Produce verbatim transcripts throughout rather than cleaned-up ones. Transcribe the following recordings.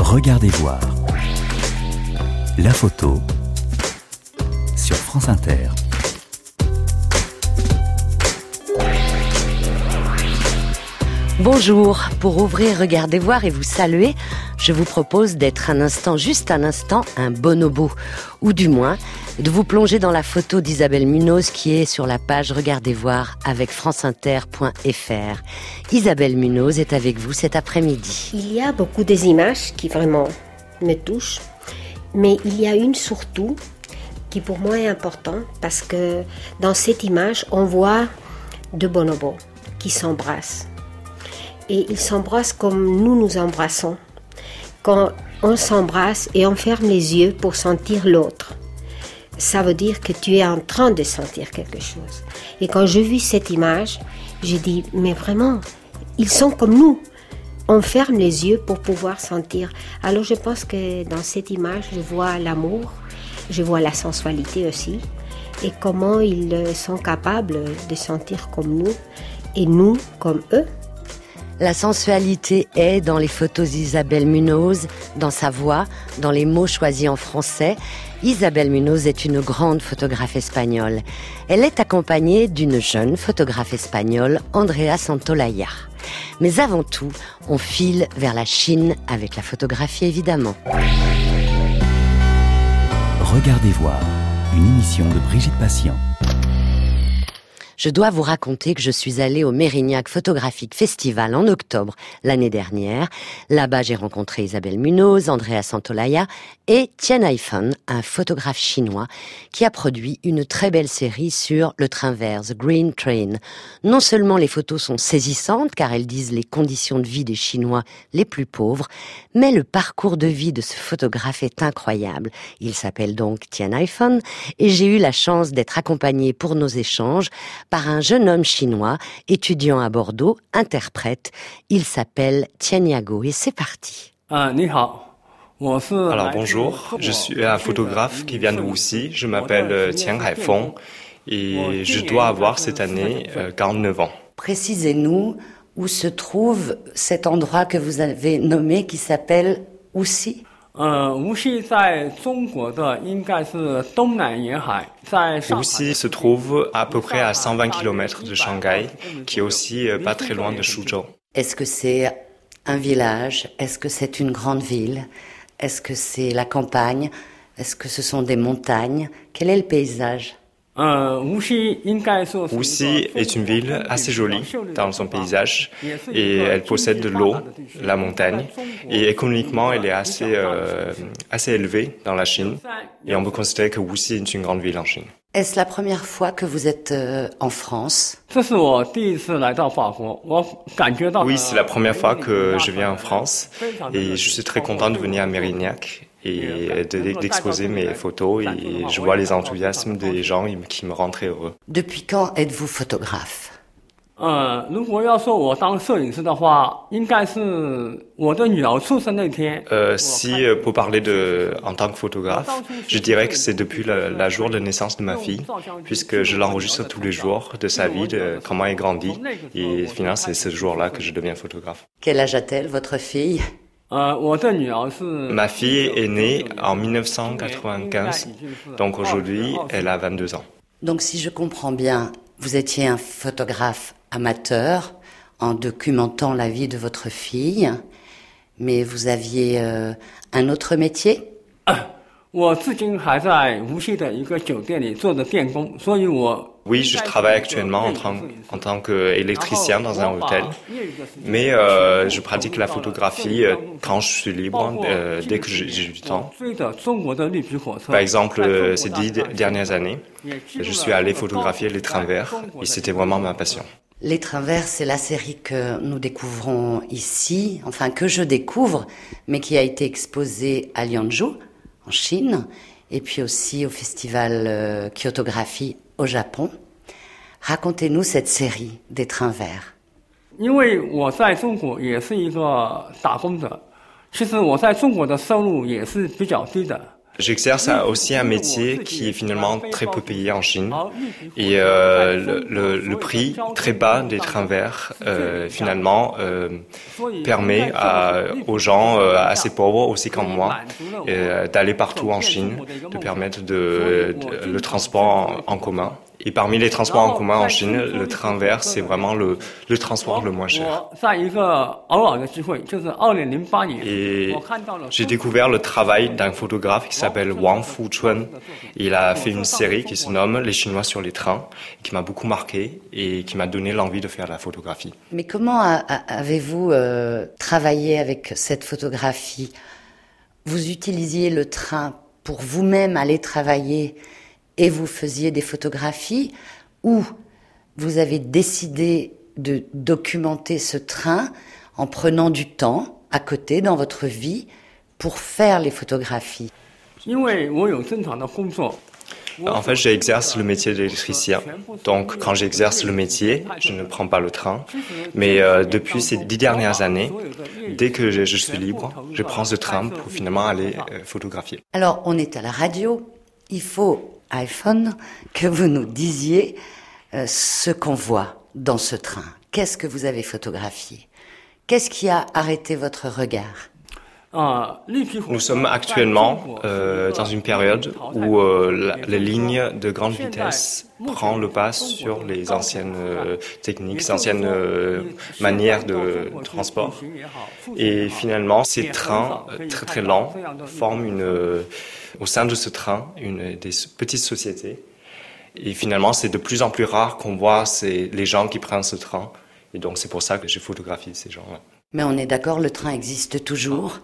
Regardez voir. La photo sur France Inter. Bonjour, pour ouvrir Regardez voir et vous saluer, je vous propose d'être un instant, juste un instant, un bonobo, ou du moins de vous plonger dans la photo d'Isabelle Munoz qui est sur la page Regardez voir avec franceinter point f r. Isabelle Munoz est avec vous cet après-midi. Il y a beaucoup des images qui vraiment me touchent, mais il y a une surtout qui pour moi est importante parce que dans cette image, on voit deux bonobos qui s'embrassent. Et ils s'embrassent comme nous nous embrassons. Quand on s'embrasse et on ferme les yeux pour sentir l'autre, ça veut dire que tu es en train de sentir quelque chose. Et quand je vis cette image, j'ai dit, mais vraiment, ils sont comme nous. On ferme les yeux pour pouvoir sentir. Alors je pense que dans cette image, je vois l'amour, je vois la sensualité aussi, et comment ils sont capables de sentir comme nous, et nous comme eux. La sensualité est dans les photos d'Isabelle Munoz, dans sa voix, dans les mots choisis en français. Isabelle Munoz est une grande photographe espagnole. Elle est accompagnée d'une jeune photographe espagnole, Andrea Santolaya. Mais avant tout, on file vers la Chine avec la photographie évidemment. Regardez voir, une émission de Brigitte Patient. Je dois vous raconter que je suis allée au Mérignac Photographic Festival en octobre l'année dernière. Là-bas, j'ai rencontré Isabelle Munoz, Andrea Santolaya et Tian Haifeng, un photographe chinois qui a produit une très belle série sur le train vert, The Green Train. Non seulement les photos sont saisissantes, car elles disent les conditions de vie des Chinois les plus pauvres, mais le parcours de vie de ce photographe est incroyable. Il s'appelle donc Tian Haifeng et j'ai eu la chance d'être accompagnée pour nos échanges par un jeune homme chinois, étudiant à Bordeaux, interprète. Il s'appelle Tianyago et c'est parti. Alors bonjour, je suis un photographe qui vient de Wuxi, je m'appelle Tian Haifeng et je dois avoir cette année quarante-neuf ans. Précisez-nous où se trouve cet endroit que vous avez nommé qui s'appelle Wuxi. Wuxi se trouve à peu près à cent vingt kilomètres de Shanghai, qui est aussi pas très loin de Suzhou. Est-ce que c'est un village? Est-ce que c'est une grande ville? Est-ce que c'est la campagne? Est-ce que ce sont des montagnes? Quel est le paysage? Wuxi est une ville assez jolie dans son paysage et elle possède de l'eau, la montagne, et économiquement elle est assez, euh, assez élevée dans la Chine et on peut considérer que Wuxi est une grande ville en Chine. Est-ce la première fois que vous êtes euh, en France? Oui, c'est la première fois que je viens en France et je suis très content de venir à Mérignac et d'exposer mes photos et je vois les enthousiasmes des gens qui me rendent très heureux. Depuis quand êtes-vous photographe? Euh, si pour parler de en tant que photographe, je dirais que c'est depuis le, la jour de naissance de ma fille, puisque je l'enregistre tous les jours de sa vie, de comment elle grandit, et finalement c'est ce jour-là que je deviens photographe. Quel âge a-t-elle, votre fille? Ma fille est née en dix-neuf cent quatre-vingt-quinze, donc aujourd'hui elle a vingt-deux ans. Donc si je comprends bien, vous étiez un photographe amateur en documentant la vie de votre fille, mais vous aviez euh, un autre métier? Oui, je travaille actuellement en tant, en tant qu'électricien dans un hôtel, mais euh, je pratique la photographie euh, quand je suis libre, euh, dès que j'ai, j'ai du temps. Par exemple, euh, ces dix dernières années, je suis allé photographier les trains verts et c'était vraiment ma passion. Les trains verts, c'est la série que nous découvrons ici, enfin que je découvre, mais qui a été exposée à Lianzhou, en Chine, et puis aussi au festival euh, Kyotographie au Japon. Racontez-nous cette série des trains verts. J'exerce aussi un métier qui est finalement très peu payé en Chine et euh, le, le, le prix très bas des trains verts euh, finalement euh, permet à, aux gens euh, assez pauvres aussi comme moi euh, d'aller partout en Chine, de permettre de, de, le transport en, en commun. Et parmi les transports en commun en Chine, le train vert, c'est vraiment le, le transport le moins cher. Et j'ai découvert le travail d'un photographe qui s'appelle Wang Fuchun. Il a fait une série qui se nomme Les Chinois sur les trains, qui m'a beaucoup marqué et qui m'a donné l'envie de faire de la photographie. Mais comment a, a, avez-vous euh, travaillé avec cette photographie ? Vous utilisiez le train pour vous-même aller travailler et vous faisiez des photographies, ou vous avez décidé de documenter ce train en prenant du temps à côté dans votre vie pour faire les photographies? En fait, j'exerce le métier d'électricien. Donc, quand j'exerce le métier, je ne prends pas le train. Mais euh, depuis ces dix dernières années, dès que je, je suis libre, je prends ce train pour finalement aller euh, photographier. Alors, on est à la radio. Il faut, iPhone, que vous nous disiez euh, ce qu'on voit dans ce train. Qu'est-ce que vous avez photographié? Qu'est-ce qui a arrêté votre regard? Nous sommes actuellement euh, dans une période où euh, la, les lignes de grande vitesse prennent le pas sur les anciennes euh, techniques, les anciennes euh, manières de transport. Et finalement, ces trains euh, très très lents forment une, euh, au sein de ce train une, des petites sociétés. Et finalement, c'est de plus en plus rare qu'on voit ces, les gens qui prennent ce train. Et donc, c'est pour ça que j'ai photographié ces gens-là. Mais on est d'accord, le train existe toujours?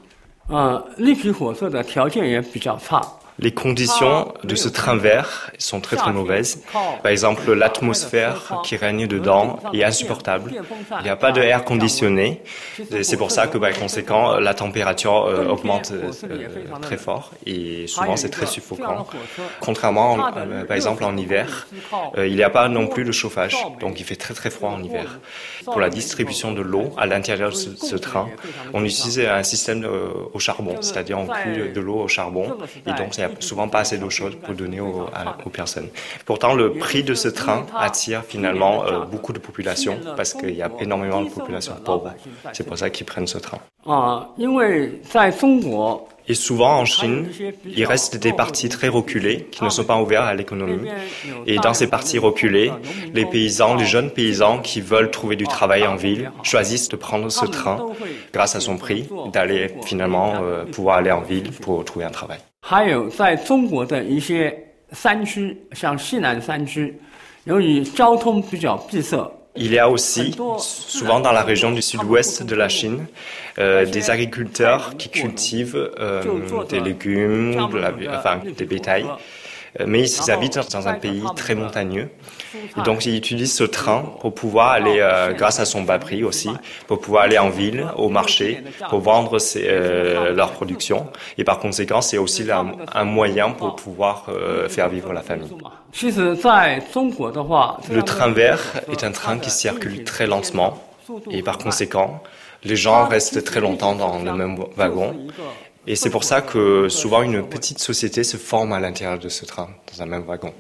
Les conditions de ce train vert sont très très mauvaises. Par exemple, l'atmosphère qui règne dedans est insupportable. Il n'y a pas de air conditionné. C'est pour ça que, par conséquent, la température euh, augmente euh, très fort et souvent c'est très suffocant. Contrairement, euh, par exemple, en hiver, euh, il n'y a pas non plus de chauffage, donc il fait très très froid en hiver. Pour la distribution de l'eau à l'intérieur de ce, ce train, on utilise un système euh, au charbon, c'est-à-dire on cuit de l'eau au charbon et donc il n'y a souvent pas assez d'eau chaude pour donner aux, à, aux personnes. Pourtant, le prix de ce train attire finalement euh, beaucoup de populations parce qu'il y a énormément de populations pauvres. C'est pour ça qu'ils prennent ce train. Et souvent en Chine, il reste des parties très reculées qui ne sont pas ouvertes à l'économie. Et dans ces parties reculées, les paysans, les jeunes paysans qui veulent trouver du travail en ville choisissent de prendre ce train grâce à son prix, d'aller finalement euh, pouvoir aller en ville pour trouver un travail. Il y a aussi, souvent dans la région du sud-ouest de la Chine, euh, des agriculteurs qui cultivent euh, des légumes, de la, enfin des bétails, mais ils habitent dans un pays très montagneux. Et donc ils utilisent ce train pour pouvoir aller, euh, grâce à son bas prix aussi, pour pouvoir aller en ville, au marché, pour vendre ses, euh, leur production. Et par conséquent, c'est aussi un, un moyen pour pouvoir euh, faire vivre la famille. Le train vert est un train qui circule très lentement et par conséquent, les gens restent très longtemps dans le même wagon. Et c'est pour ça que souvent une petite société se forme à l'intérieur de ce train, dans un même wagon.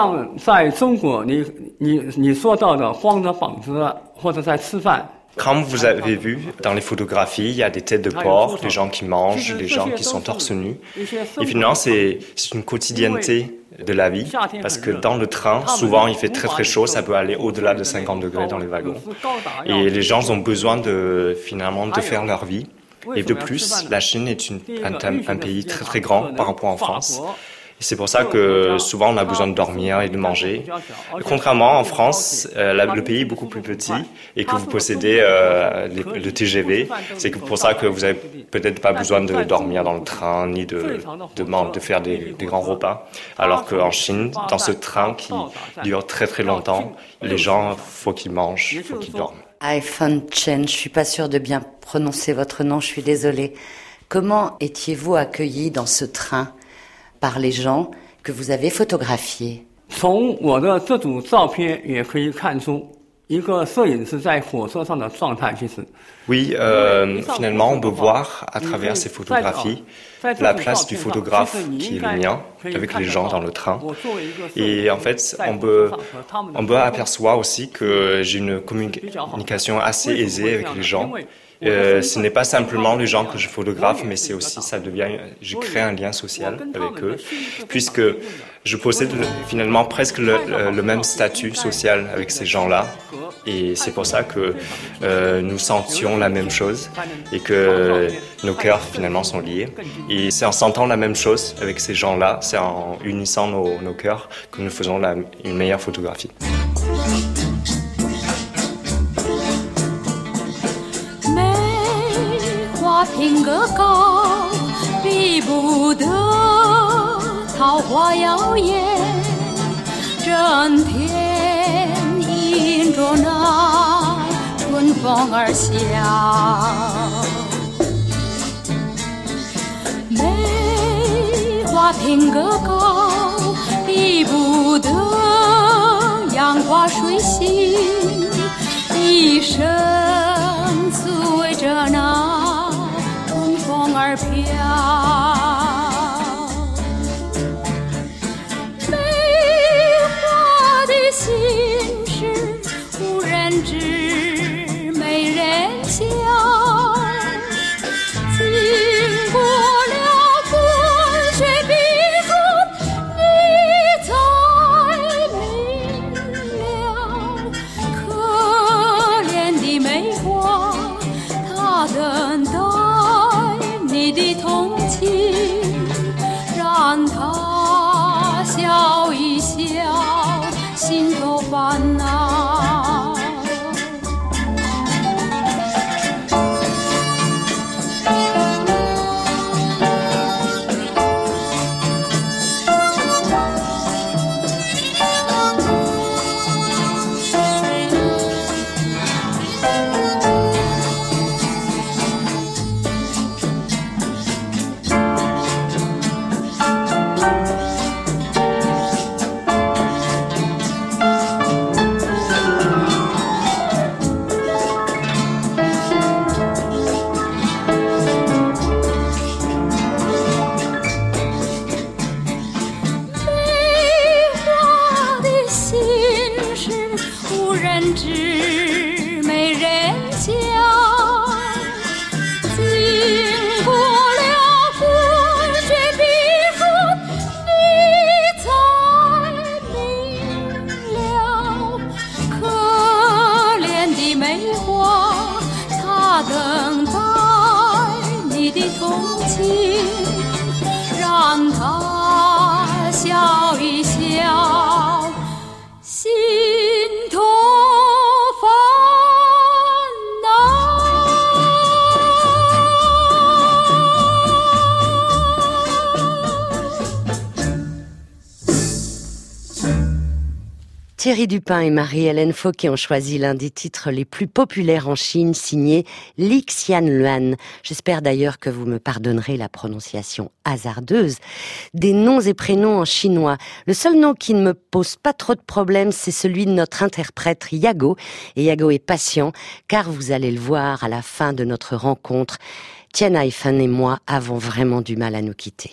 Comme vous avez vu dans les photographies, il y a des têtes de porc, des gens qui mangent, des gens qui sont torse nu. Et finalement, c'est, c'est une quotidienneté de la vie, parce que dans le train, souvent il fait très très chaud, ça peut aller au-delà de cinquante degrés dans les wagons. Et les gens ont besoin de, finalement, de faire leur vie. Et de plus, la Chine est une, un, un pays très très grand par rapport en France. Et c'est pour ça que souvent on a besoin de dormir et de manger. Contrairement en France, euh, la, le pays est beaucoup plus petit et que vous possédez euh, les, le T G V. C'est pour ça que vous avez peut-être pas besoin de dormir dans le train ni de, de, de, de faire des, des grands repas. Alors qu'en Chine, dans ce train qui dure très très longtemps, les gens, faut qu'ils mangent, faut qu'ils dorment. iPhone Chen, je suis pas sûre de bien prononcer votre nom, je suis désolée. Comment étiez-vous accueilli dans ce train par les gens que vous avez photographiés? Oui, euh, finalement, on peut voir à travers ces photographies la place du photographe qui est le mien, avec les gens dans le train. Et en fait, on peut, on peut apercevoir aussi que j'ai une communication assez aisée avec les gens. Euh, ce n'est pas simplement les gens que je photographe, mais c'est aussi, ça devient, je crée un lien social avec eux, puisque je possède finalement presque le, le, le même statut social avec ces gens-là. Et c'est pour ça que euh, nous sentions la même chose et que nos cœurs finalement sont liés. Et c'est en sentant la même chose avec ces gens-là, c'est en unissant nos, nos cœurs que nous faisons la, une meilleure photographie. 品格高，比不得桃花妖艳。整天迎着那春风儿笑，梅花品格高，比不得杨花水性。一生随着那风儿飘，梅花的心事无人知，没人晓。经过了风雪碧霜，你才明了，可怜的梅花，它等待你的同情，让他笑一笑，心头烦恼。 Thierry Dupin et Marie-Hélène Fauquet ont choisi l'un des titres les plus populaires en Chine, signé Li Xianluan. J'espère d'ailleurs que vous me pardonnerez la prononciation hasardeuse des noms et prénoms en chinois. Le seul nom qui ne me pose pas trop de problèmes, c'est celui de notre interprète Yago. Et Yago est patient, car vous allez le voir à la fin de notre rencontre. Tien Hai-Fan et moi avons vraiment du mal à nous quitter.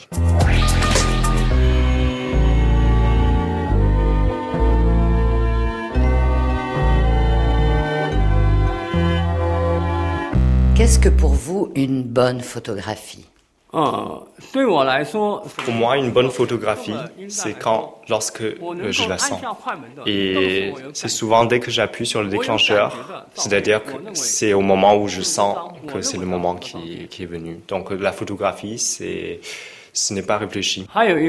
Qu'est-ce que pour vous une bonne photographie ? Pour moi, une bonne photographie, c'est quand, lorsque euh, je la sens. Et c'est souvent dès que j'appuie sur le déclencheur, c'est-à-dire que c'est au moment où je sens que c'est le moment qui, qui est venu. Donc la photographie, c'est, ce n'est pas réfléchi.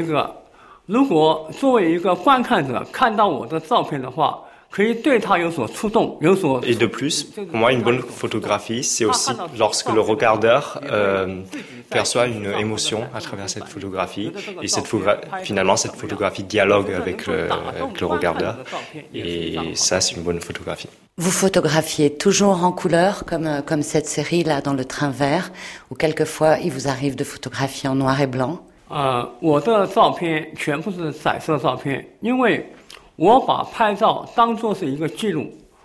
Et de plus, pour moi, une bonne photographie, c'est aussi lorsque le regardeur euh, perçoit une émotion à travers cette photographie. Et cette photogra- finalement, cette photographie dialogue avec le, avec le regardeur. Et ça, c'est une bonne photographie. Vous photographiez toujours en couleur, comme, comme cette série-là dans le train vert, ou quelquefois, il vous arrive de photographier en noir et blanc ? euh, 我的照片全部是彩色照片，因为我把拍照当作是一个记录，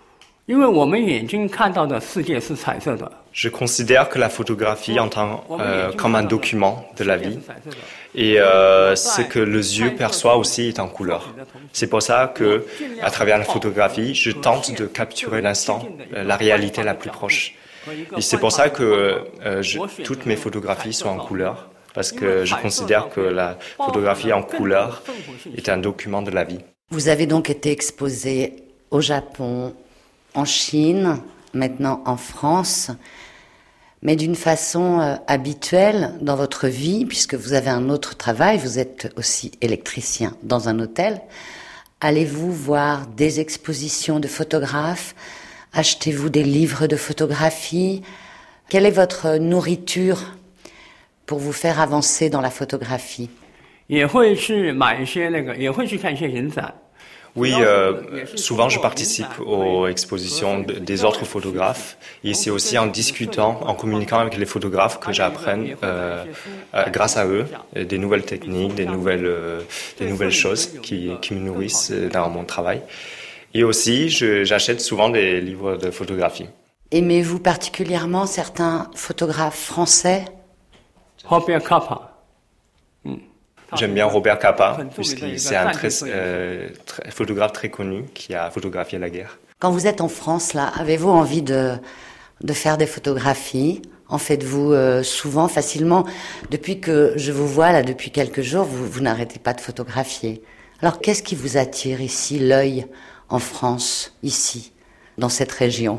因为我们眼睛看到的世界是彩色的。 Je considère que la photographie en tant, euh, comme un document de la vie et euh, ce que les yeux perçoivent aussi est en couleur. C'est pour ça que, à travers la photographie, je tente de capturer l'instant, la réalité la plus proche. Et c'est pour ça que euh, je, toutes mes photographies sont en couleur, parce que je considère que la photographie en couleur est un document de la vie. Vous avez donc été exposé au Japon, en Chine, maintenant en France, mais d'une façon euh, habituelle dans votre vie, puisque vous avez un autre travail, vous êtes aussi électricien dans un hôtel. Allez-vous voir des expositions de photographes? Achetez-vous des livres de photographie? Quelle est votre nourriture pour vous faire avancer dans la photographie? 也会去买一些那个，也会去看一些影展。 Oui, euh, souvent je participe aux expositions de, des autres photographes et c'est aussi en discutant, en communiquant avec les photographes que j'apprenne, euh, euh, grâce à eux, des nouvelles techniques, des nouvelles, euh, des nouvelles choses qui, qui me nourrissent dans mon travail. Et aussi, je, j'achète souvent des livres de photographie. Aimez-vous particulièrement certains photographes français? Robert Capa. J'aime bien Robert Capa, puisque c'est un très, euh, très, photographe très connu qui a photographié la guerre. Quand vous êtes en France, là, avez-vous envie de, de faire des photographies? En faites-vous euh, souvent, facilement? Depuis que je vous vois, là, depuis quelques jours, vous, vous n'arrêtez pas de photographier. Alors, qu'est-ce qui vous attire ici, l'œil, en France, ici, dans cette région?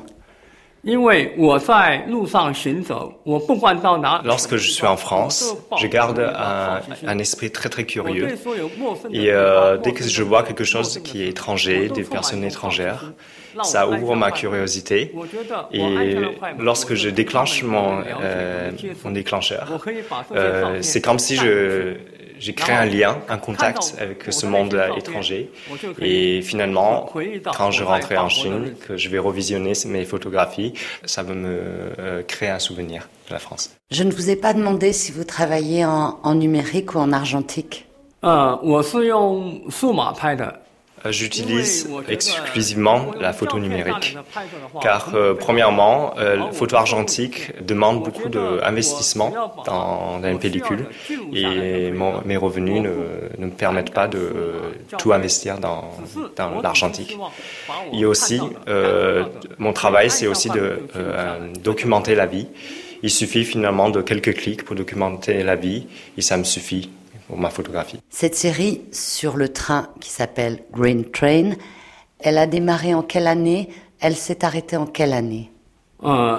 Lorsque je suis en France, je garde un, un esprit très très curieux et euh, dès que je vois quelque chose qui est étranger, des personnes étrangères, ça ouvre ma curiosité et lorsque je déclenche mon, euh, mon déclencheur, euh, c'est comme si je... J'ai créé un lien, un contact avec ce monde étranger et finalement, quand je rentrais en Chine, que je vais revisionner mes photographies, ça va me euh, créer un souvenir de la France. Je ne vous ai pas demandé si vous travaillez en, en numérique ou en argentique. Euh, 我是用数码拍的。 J'utilise exclusivement la photo numérique, car euh, premièrement, euh, la photo argentique demande beaucoup d'investissement dans, dans une pellicule et mon, mes revenus ne, ne me permettent pas de euh, tout investir dans, dans l'argentique. Et aussi, euh, mon travail, c'est aussi de euh, documenter la vie. Il suffit finalement de quelques clics pour documenter la vie et ça me suffit pour ma photographie. Cette série sur le train qui s'appelle Green Train, elle a démarré en quelle année? Elle s'est arrêtée en quelle année? euh,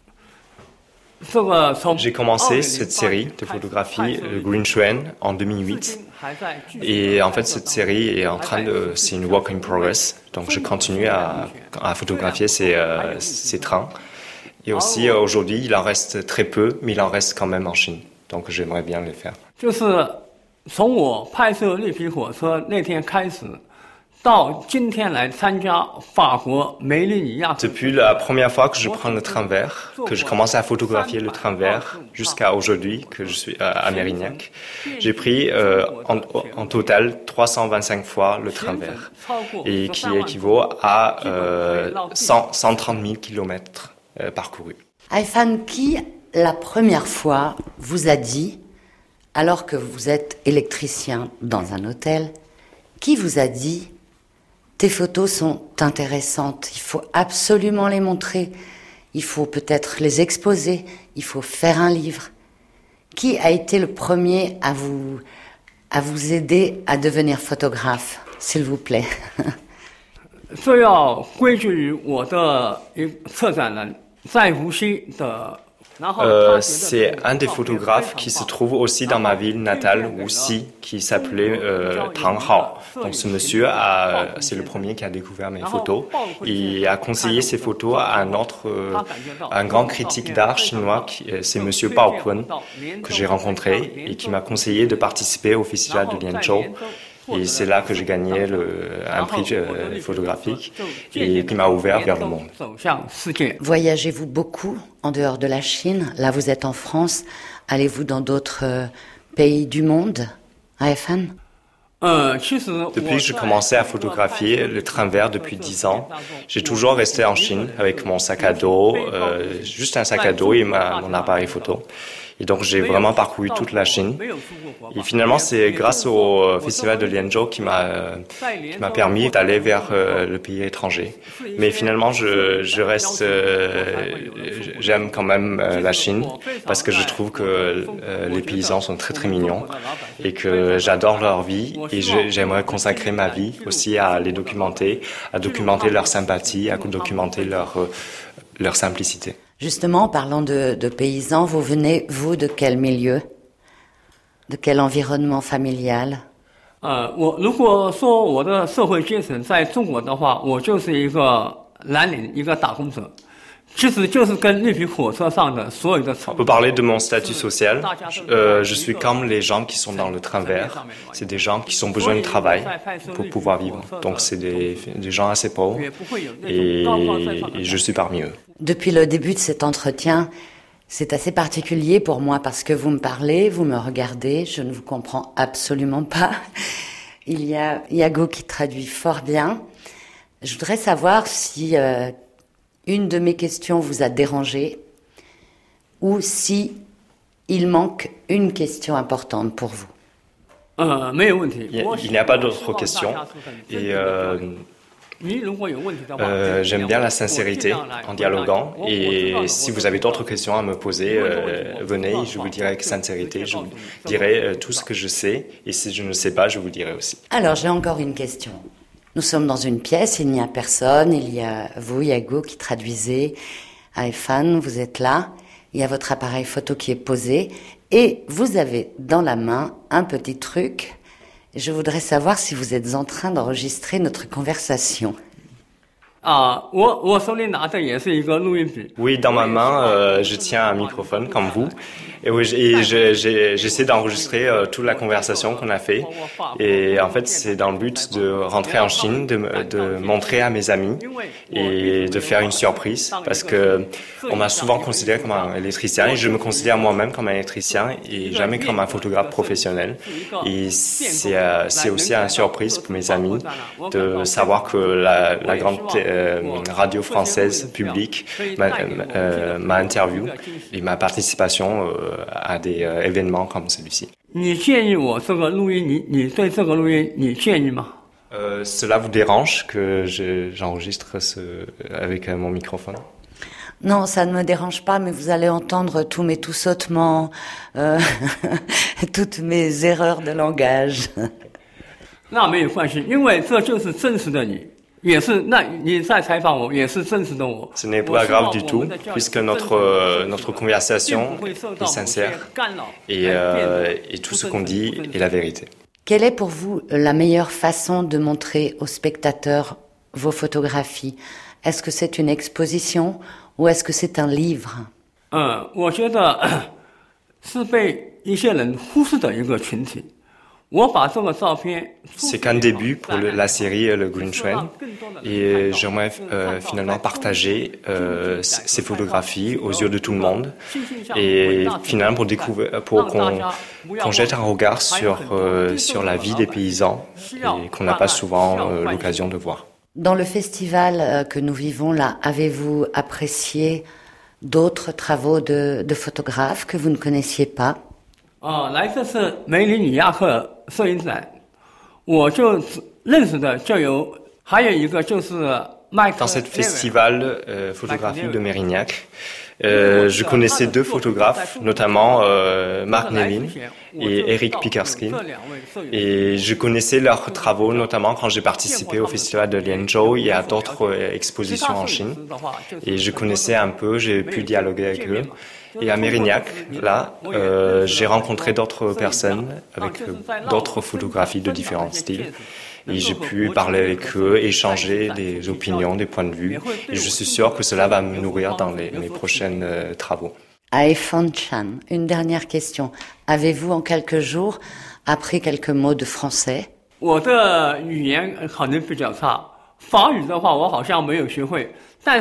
J'ai commencé cette série de photographie, le Green Train, en deux mille huit. Et en fait, cette série est en train de... C'est une work in progress. Donc, je continue à, à photographier ces, euh, ces trains. Et aussi, euh, aujourd'hui, il en reste très peu, mais il en reste quand même en Chine. Donc, j'aimerais bien les faire. 从我拍摄绿皮火车那天开始，到今天来参加法国梅利尼亚。 Depuis la première fois que je prends le train vert, que je commence à photographier le train vert, jusqu'à aujourd'hui que je suis à Mérignac, j'ai pris euh, en, en total trois cent vingt-cinq fois le train vert, et qui équivaut à euh, cent, cent trente mille kilomètres euh, parcourus. Haifan, qui la première fois vous a dit, alors que vous êtes électricien dans un hôtel, qui vous a dit « Tes photos sont intéressantes, il faut absolument les montrer, il faut peut-être les exposer, il faut faire un livre ». Qui a été le premier à vous, à vous aider à devenir photographe, s'il vous plaît? 这要归咎于我的一策展人在无锡的。 Euh, c'est un des photographes qui se trouve aussi dans ma ville natale, Wuxi, qui s'appelait euh, Tang Hao. Donc ce monsieur, a, c'est le premier qui a découvert mes photos et a conseillé ces photos à un autre, euh, un grand critique d'art chinois, qui, c'est monsieur Bao Kun, que j'ai rencontré et qui m'a conseillé de participer au festival de Lianzhou. Et c'est là que j'ai gagné le, un prix euh, photographique et qui m'a ouvert vers le monde. Voyagez-vous beaucoup en dehors de la Chine? Là, vous êtes en France. Allez-vous dans d'autres euh, pays du monde, Haifan? Depuis que j'ai commencé à photographier le train vert depuis dix ans, j'ai toujours resté en Chine avec mon sac à dos, euh, juste un sac à dos et ma, mon appareil photo. Et donc j'ai vraiment parcouru toute la Chine. Et finalement, c'est grâce au festival de Lianzhou qui m'a euh, qui m'a permis d'aller vers euh, le pays étranger. Mais finalement, je je reste, euh, j'aime quand même euh, la Chine parce que je trouve que euh, les paysans sont très très mignons et que j'adore leur vie et je, j'aimerais consacrer ma vie aussi à les documenter, à documenter leur sympathie, à documenter leur euh, leur simplicité. Justement, en parlant de, de paysans, vous venez, vous, de quel milieu? De quel environnement familial? 呃，我如果说我的社会阶层在中国的话，我就是一个蓝领，一个打工者，其实就是跟绿皮火车上的所有的。 On peut parler de mon statut social. Euh, je suis comme les gens qui sont dans le train vert. C'est des gens qui ont besoin de travail pour pouvoir vivre. Donc c'est des, des gens assez pauvres et, et je suis parmi eux. Depuis le début de cet entretien, c'est assez particulier pour moi parce que vous me parlez, vous me regardez, je ne vous comprends absolument pas. Il y a Yago qui traduit fort bien. Je voudrais savoir si euh, une de mes questions vous a dérangé ou si il manque une question importante pour vous. Euh, mais il, il n'y a pas d'autres questions et euh, Euh, j'aime bien la sincérité en dialoguant et si vous avez d'autres questions à me poser, euh, venez, je vous dirai avec sincérité, je vous dirai euh, tout ce que je sais et si je ne sais pas, je vous dirai aussi. Alors j'ai encore une question. Nous sommes dans une pièce, il n'y a personne, il y a vous, Yago, qui traduisez, Aifan, vous êtes là, il y a votre appareil photo qui est posé et vous avez dans la main un petit truc. Je voudrais savoir si vous êtes en train d'enregistrer notre conversation. Oui, dans ma main, euh, je tiens un microphone comme vous. Et, oui, et je, j'ai, j'essaie d'enregistrer euh, toute la conversation qu'on a fait. Et en fait, c'est dans le but de rentrer en Chine, de, de montrer à mes amis et de faire une surprise. Parce que on m'a souvent considéré comme un électricien et je me considère moi-même comme un électricien et jamais comme un photographe professionnel. Et c'est, euh, c'est aussi une surprise pour mes amis de savoir que la, la grande euh, radio française publique m'a, euh, m'a interviewé et ma participation euh, à des euh, événements comme celui-ci. Euh, cela vous dérange que je, j'enregistre ce, avec euh, mon microphone? Non, ça ne me dérange pas, mais vous allez entendre tous mes tout sautements, euh, toutes mes erreurs de langage. Ce n'est pas grave du tout, puisque notre, euh, notre conversation est sincère et, euh, et tout ce qu'on dit est la vérité. Quelle est pour vous la meilleure façon de montrer aux spectateurs vos photographies? Est-ce que c'est une exposition ou est-ce que c'est un livre? euh, C'est qu'un début pour le, la série Le Green Train et j'aimerais euh, finalement partager euh, ces photographies aux yeux de tout le monde et finalement pour découvrir, pour qu'on, qu'on jette un regard sur euh, sur la vie des paysans et qu'on n'a pas souvent euh, l'occasion de voir. Dans le festival que nous vivons là, avez-vous apprécié d'autres travaux de, de photographes que vous ne connaissiez pas? 啊，来这次梅里尼亚克摄影展，我就认识的就有，还有一个就是麦克。 Dans ce festival euh, photographie de Mérignac, euh, je connaissais deux photographes, notamment euh, Mark Nevin et Eric Pickerskin. Et je connaissais leurs travaux, notamment quand j'ai participé au festival de Lianzhou et à d'autres euh, expositions en Chine. Et je connaissais un peu, j'ai pu dialoguer avec eux. Et à Mérignac, là, euh, j'ai rencontré d'autres personnes avec euh, d'autres photographies de différents styles. Et j'ai pu parler avec eux, échanger des opinions, des points de vue. Et je suis sûr que cela va me nourrir dans les, mes prochains euh, travaux. Aifan Chan, une dernière question. Avez-vous en quelques jours appris quelques mots de français? 我的语言可能比较差，法语的话我好像没有学会。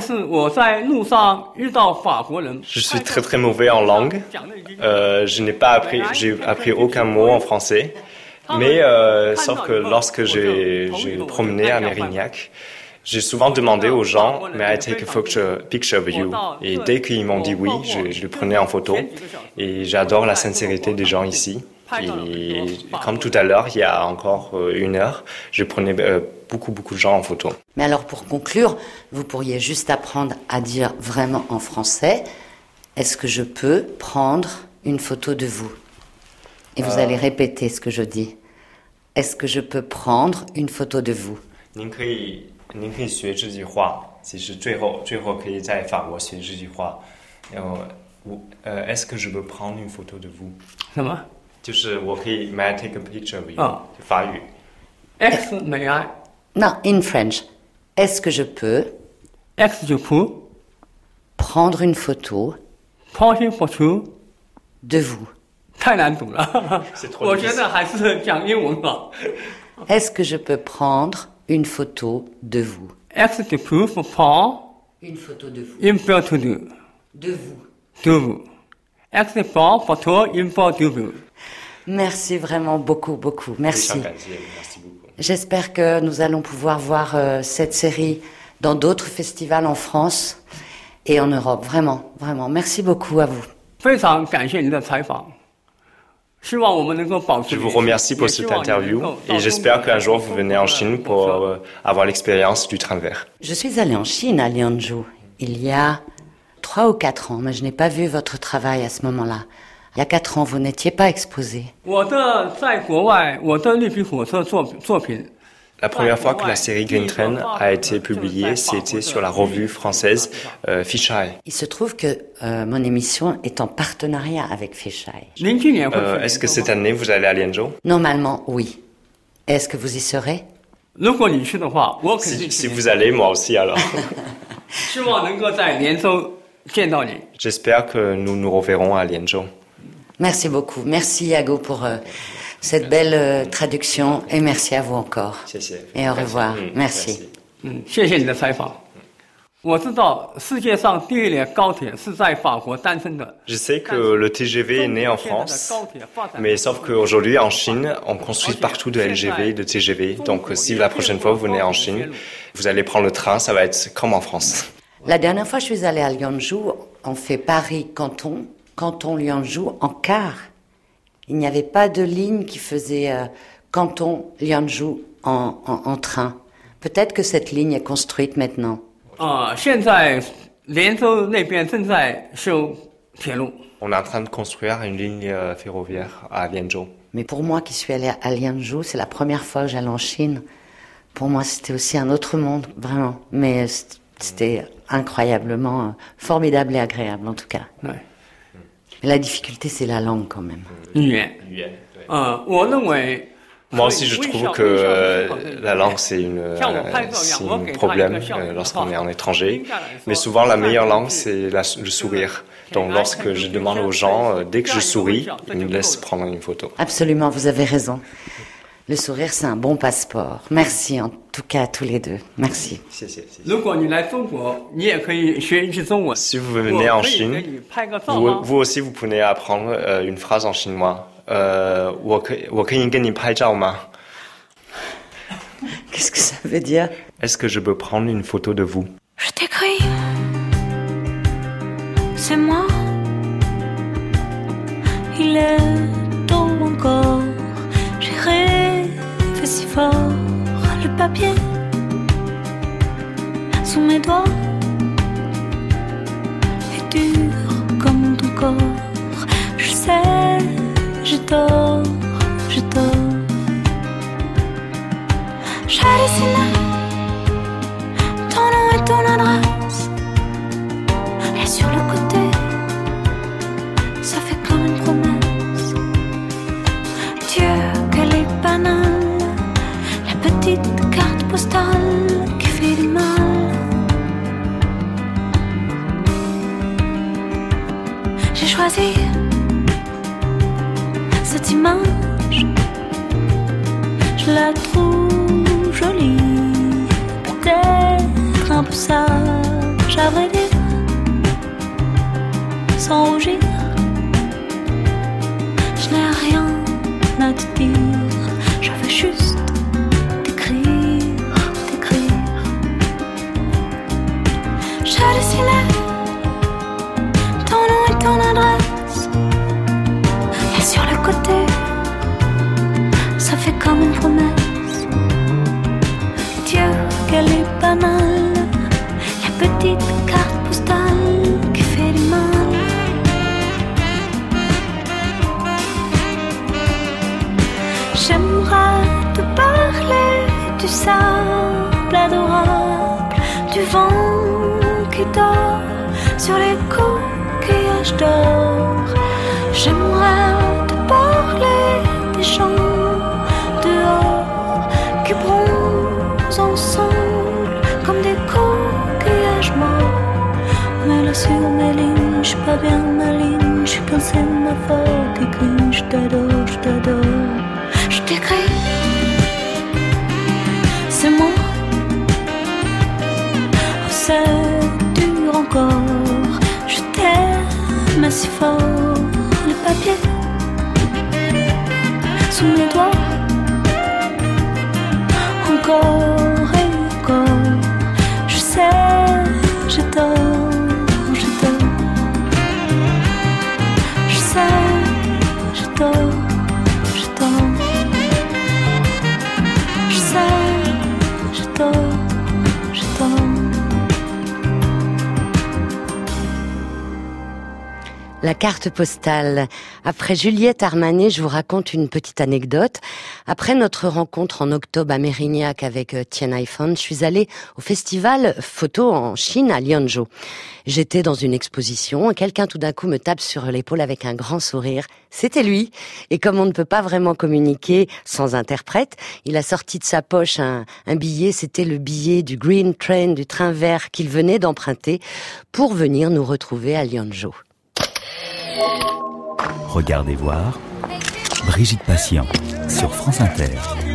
Je suis très très mauvais en langue. Euh, je n'ai pas appris, j'ai appris aucun mot en français. Mais euh, sauf que lorsque j'ai, j'ai promené à Mérignac, j'ai souvent demandé aux gens « May I take a photo, picture of you ?» Et dès qu'ils m'ont dit oui, je, je le prenais en photo. Et j'adore la sincérité des gens ici. Et comme tout à l'heure, il y a encore une heure, je prenais euh, beaucoup, beaucoup de gens en photo. Mais alors pour conclure, vous pourriez juste apprendre à dire vraiment en français « Est-ce que je peux prendre une photo de vous ?» Et vous euh... allez répéter ce que je dis. « Est-ce que je peux prendre une photo de vous ?» 您可以您可以学这句话，其实最后最后可以在法国学这句话。然后我呃 ，Est-ce que je peux prendre une photo de vous？ 什么？ 就是我可以 May I take a picture of you？ 哦，法语。 Est-ce may I？ Non, in French. Est-ce que je peux Est-ce que je peux prendre une photo prendre une photo de vous？ 太难读了，我觉得还是讲英文好。 Est-ce que je peux prendre une photo de vous? Est-ce que je peux prendre une photo de vous? Une photo de de vous. De vous. Est-ce que je peux prendre une photo de vous? Merci vraiment beaucoup, beaucoup. Merci. Merci beaucoup. J'espère que nous allons pouvoir voir euh, cette série dans d'autres festivals en France et en Europe. Vraiment, vraiment. Merci beaucoup à vous. 非常感谢您的采访。 Je vous remercie pour cette interview et j'espère qu'un jour vous venez en Chine pour euh, avoir l'expérience du train vert. Je suis allée en Chine à Lianzhou il y a trois ou quatre ans, mais je n'ai pas vu votre travail à ce moment-là. Il y a quatre ans, vous n'étiez pas exposé. La première fois que la série Green Train a été publiée, c'était sur la revue française euh, Fisheye. Il se trouve que euh, mon émission est en partenariat avec Fisheye. Euh, est-ce que cette année vous allez à Lianzhou? Normalement, oui. Est-ce que vous y serez? si, si vous allez, moi aussi alors. J'espère que nous nous reverrons à Lianzhou. Merci beaucoup. Merci Yago pour euh, cette belle euh, traduction et merci à vous encore. Et au revoir. Merci. Merci. Je sais que le T G V est né en France, mais sauf qu'aujourd'hui en Chine, on construit partout de L G V, de T G V. Donc si la prochaine fois vous venez en Chine, vous allez prendre le train, ça va être comme en France. La dernière fois je suis allée à Lianzhou, on fait Paris-Canton, Canton-Lianzhou en car. Il n'y avait pas de ligne qui faisait euh, Canton-Lianzhou en, en, en train. Peut-être que cette ligne est construite maintenant. On est en train de construire une ligne ferroviaire à Lianzhou. Mais pour moi qui suis allée à Lianzhou, c'est la première fois que j'allais en Chine. Pour moi, c'était aussi un autre monde, vraiment. Mais c'était incroyablement formidable et agréable, en tout cas. Ouais. Mais la difficulté, c'est la langue, quand même. Moi aussi, je trouve que euh, la langue, c'est, une, euh, c'est un problème euh, lorsqu'on est en étranger. Mais souvent, la meilleure langue, c'est la, le sourire. Donc, lorsque je demande aux gens, euh, dès que je souris, ils me laissent prendre une photo. Absolument, vous avez raison. Le sourire, c'est un bon passeport. Merci, en tout cas, à tous les deux. Merci. Si vous venez en Chine, vous, vous aussi, vous pouvez apprendre euh, une phrase en chinois. Euh, Qu'est-ce que ça veut dire? Est-ce que je peux prendre une photo de vous? Je t'écris, c'est moi. Il est tôt encore. J'ai rêvé si fort. Le papier sous mes doigts est dur comme ton corps. Je sais. Je dors, je dors. J'hallucine ton nom et ton adresse. Et sur le côté, ça fait comme une promesse. Dieu, qu'elle est banale. La petite carte postale qui fait du mal. J'ai choisi cette image, je la trouve jolie, peut-être un peu sage, à vrai dire, sans rougir. Je n'ai rien à te dire, sable adorable, du vent qui dort sur les coquillages d'or. J'aimerais te parler des gens dehors qui bronzent ensemble comme des coquillages morts. Mais là sur mes lignes, je suis pas bien maligne, je suis qu'un sémaphore qui cligne. Je t'adore, je t'adore, je t'écris, c'est moi. Oh, c'est dur encore, je t'aime si fort. Le papier sous mes doigts, encore et encore. Je sais, je dors, je dors. Je sais, je dors, je dors. Je sais, je dors, je dors. La carte postale. Après Juliette Armanet, je vous raconte une petite anecdote. Après notre rencontre en octobre à Mérignac avec Tien Hai Fan, je suis allée au festival photo en Chine à Lianzhou. J'étais dans une exposition et quelqu'un tout d'un coup me tape sur l'épaule avec un grand sourire. C'était lui. Et comme on ne peut pas vraiment communiquer sans interprète, il a sorti de sa poche un, un billet. C'était le billet du Green Train, du train vert qu'il venait d'emprunter pour venir nous retrouver à Lianzhou. Regardez voir, Brigitte Patient sur France Inter.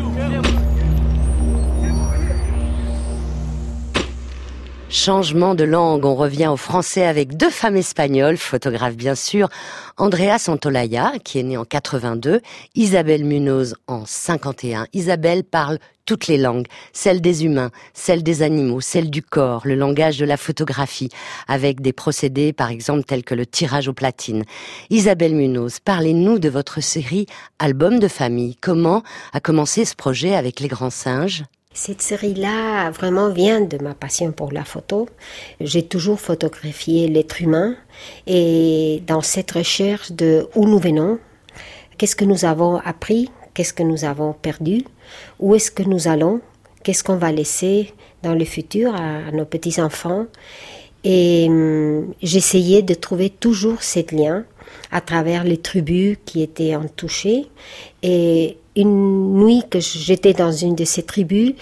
Changement de langue, on revient au français avec deux femmes espagnoles, photographes bien sûr, Andrea Santolaya, qui est née en quatre-vingt-deux, Isabelle Munoz en cinquante et un. Isabelle parle toutes les langues, celle des humains, celle des animaux, celle du corps, le langage de la photographie, avec des procédés par exemple tels que le tirage aux platines. Isabelle Munoz, parlez-nous de votre série Album de famille. Comment a commencé ce projet avec Les Grands Singes ? Cette série-là vraiment vient de ma passion pour la photo. J'ai toujours photographié l'être humain et dans cette recherche de où nous venons, qu'est-ce que nous avons appris, qu'est-ce que nous avons perdu, où est-ce que nous allons, qu'est-ce qu'on va laisser dans le futur à, à nos petits-enfants. Et hum, j'essayais de trouver toujours ce lien à travers les tribus qui étaient en touchées. Et une nuit que j'étais dans une de ces tribus,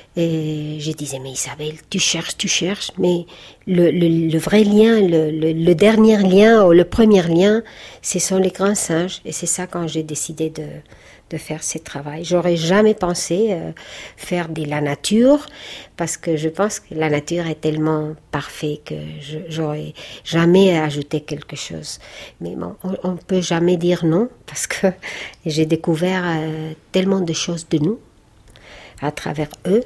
et je disais, mais Isabelle, tu cherches, tu cherches, mais le, le, le vrai lien, le, le, le dernier lien, ou le premier lien, ce sont les grands singes. Et c'est ça quand j'ai décidé de, de faire ce travail. J'aurais jamais pensé euh, faire de la nature, parce que je pense que la nature est tellement parfaite que je, j'aurais jamais ajouté quelque chose. Mais bon, on ne peut jamais dire non, parce que j'ai découvert euh, tellement de choses de nous, à travers eux,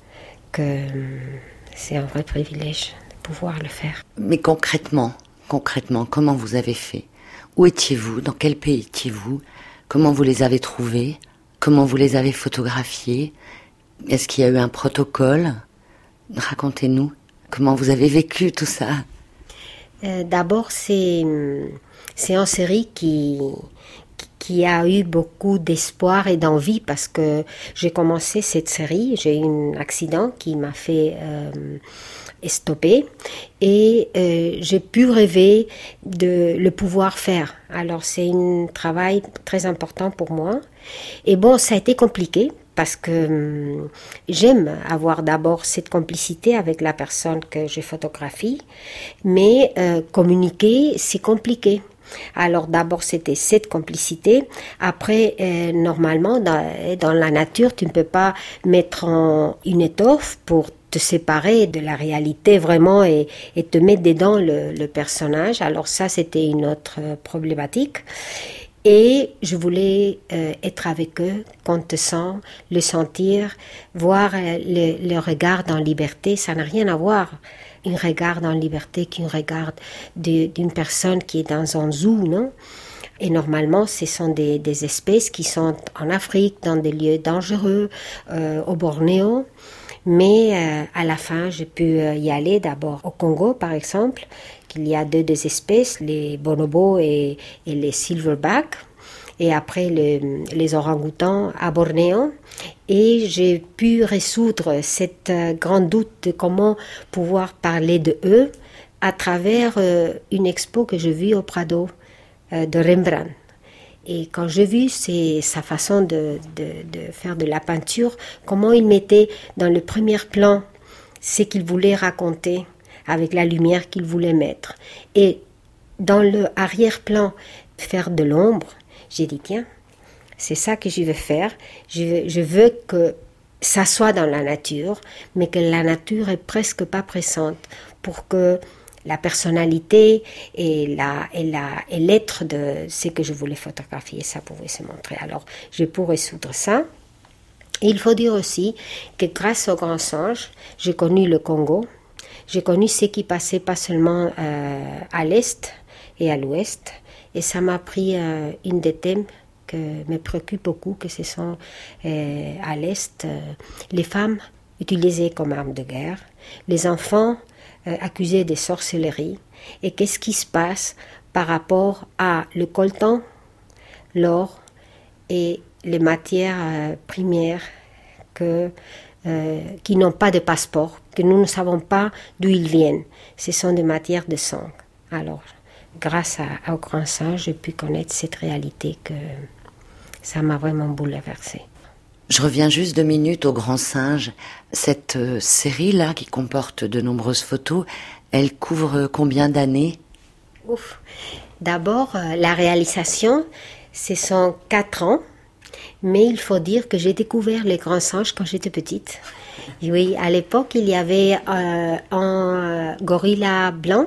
que c'est un vrai privilège de pouvoir le faire. Mais concrètement, concrètement, comment vous avez fait ? Où étiez-vous ? Dans quel pays étiez-vous ? Comment vous les avez trouvés ? Comment vous les avez photographiés ? Est-ce qu'il y a eu un protocole ? Racontez-nous. Comment vous avez vécu tout ça ? euh, D'abord, c'est, c'est une série qui... qui a eu beaucoup d'espoir et d'envie parce que j'ai commencé cette série, j'ai eu un accident qui m'a fait euh, stopper et euh, j'ai pu rêver de le pouvoir faire. Alors c'est un travail très important pour moi. Et bon, ça a été compliqué parce que euh, j'aime avoir d'abord cette complicité avec la personne que je photographie, mais euh, communiquer, c'est compliqué. Alors d'abord c'était cette complicité, après euh, normalement dans, dans la nature tu ne peux pas mettre en une étoffe pour te séparer de la réalité vraiment et, et te mettre dedans le, le personnage. Alors ça c'était une autre problématique et je voulais euh, être avec eux, qu'on te sent, le sentir, voir euh, le, le regard en liberté, ça n'a rien à voir. Un regard en liberté qu'un regard de, d'une personne qui est dans un zoo, non ? Et normalement, ce sont des, des espèces qui sont en Afrique, dans des lieux dangereux, euh, au Bornéo. Mais euh, à la fin, j'ai pu y aller d'abord au Congo, par exemple, qu'il y a deux des espèces, les bonobos et, et les silverbacks. et après le, les orang-outans à Bornéo. Et j'ai pu résoudre cette euh, grande doute de comment pouvoir parler de eux à travers euh, une expo que j'ai vue au Prado euh, de Rembrandt. Et quand j'ai vu c'est, sa façon de, de, de faire de la peinture, comment il mettait dans le premier plan ce qu'il voulait raconter avec la lumière qu'il voulait mettre. Et dans le arrière-plan, faire de l'ombre, j'ai dit tiens, c'est ça que je veux faire. Je, je veux que ça soit dans la nature, mais que la nature est presque pas présente pour que la personnalité et, la, et, la, et l'être de ce que je voulais photographier, ça pouvait se montrer. Alors, j'ai pu résoudre ça. Et il faut dire aussi que grâce au Grand Singe, j'ai connu le Congo, j'ai connu ce qui passait pas seulement euh, à l'est et à l'ouest, et ça m'a pris euh, une des thèmes que me préoccupe beaucoup, que ce sont euh, à l'est euh, les femmes utilisées comme armes de guerre, les enfants euh, accusés de sorcellerie, et qu'est-ce qui se passe par rapport à le coltan, l'or et les matières euh, premières que, euh, qui n'ont pas de passeport, que nous ne savons pas d'où ils viennent. Ce sont des matières de sang. Alors, grâce à, au Grand Singe, j'ai pu connaître cette réalité que ça m'a vraiment bouleversée. Je reviens juste deux minutes au Grand Singe. Cette euh, série-là, qui comporte de nombreuses photos, elle couvre combien d'années ? Ouf. D'abord, euh, la réalisation, ce sont quatre ans. Mais il faut dire que j'ai découvert les Grands Singes quand j'étais petite. Oui, à l'époque, il y avait euh, un gorilla blanc